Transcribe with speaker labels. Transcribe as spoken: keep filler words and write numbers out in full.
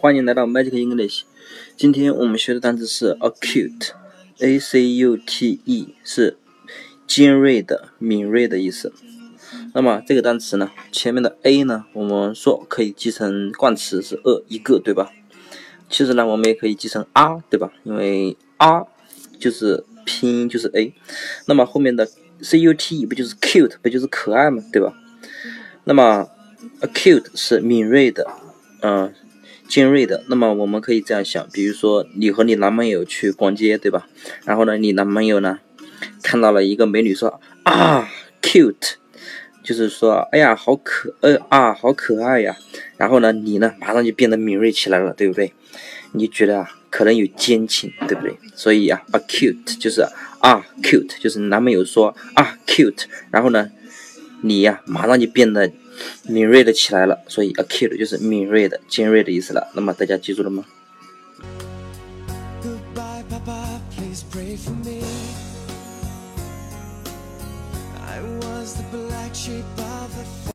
Speaker 1: 欢迎来到 Magic English。今天我们学的单词是 acute，A C U T E， 是尖锐的、敏锐的意思。那么这个单词呢，前面的 A 呢，我们说可以记成冠词是 a 一个，对吧？其实呢，我们也可以记成 r， 对吧？因为 r 就是拼音就是 A， 那么后面的 C U T E 不就是 cute， 不就是可爱吗？对吧？那么 acute 是敏锐的，嗯、呃。尖锐的，那么我们可以这样想，比如说你和你男朋友去逛街，对吧？然后呢，你男朋友呢看到了一个美女说啊 cute， 就是说哎呀好可呃啊好可爱呀，然后呢你呢马上就变得敏锐起来了，对不对？你觉得啊可能有奸情，对不对？所以啊 acute 就是啊 cute， 就是男朋友说啊 cute， 然后呢你呀、啊、马上就变得敏锐的起来了，所以 acute 就是敏锐的、尖锐的意思了。那么大家记住了吗？
Speaker 2: Goodbye, Papa, please pray for me. I was the black sheep of the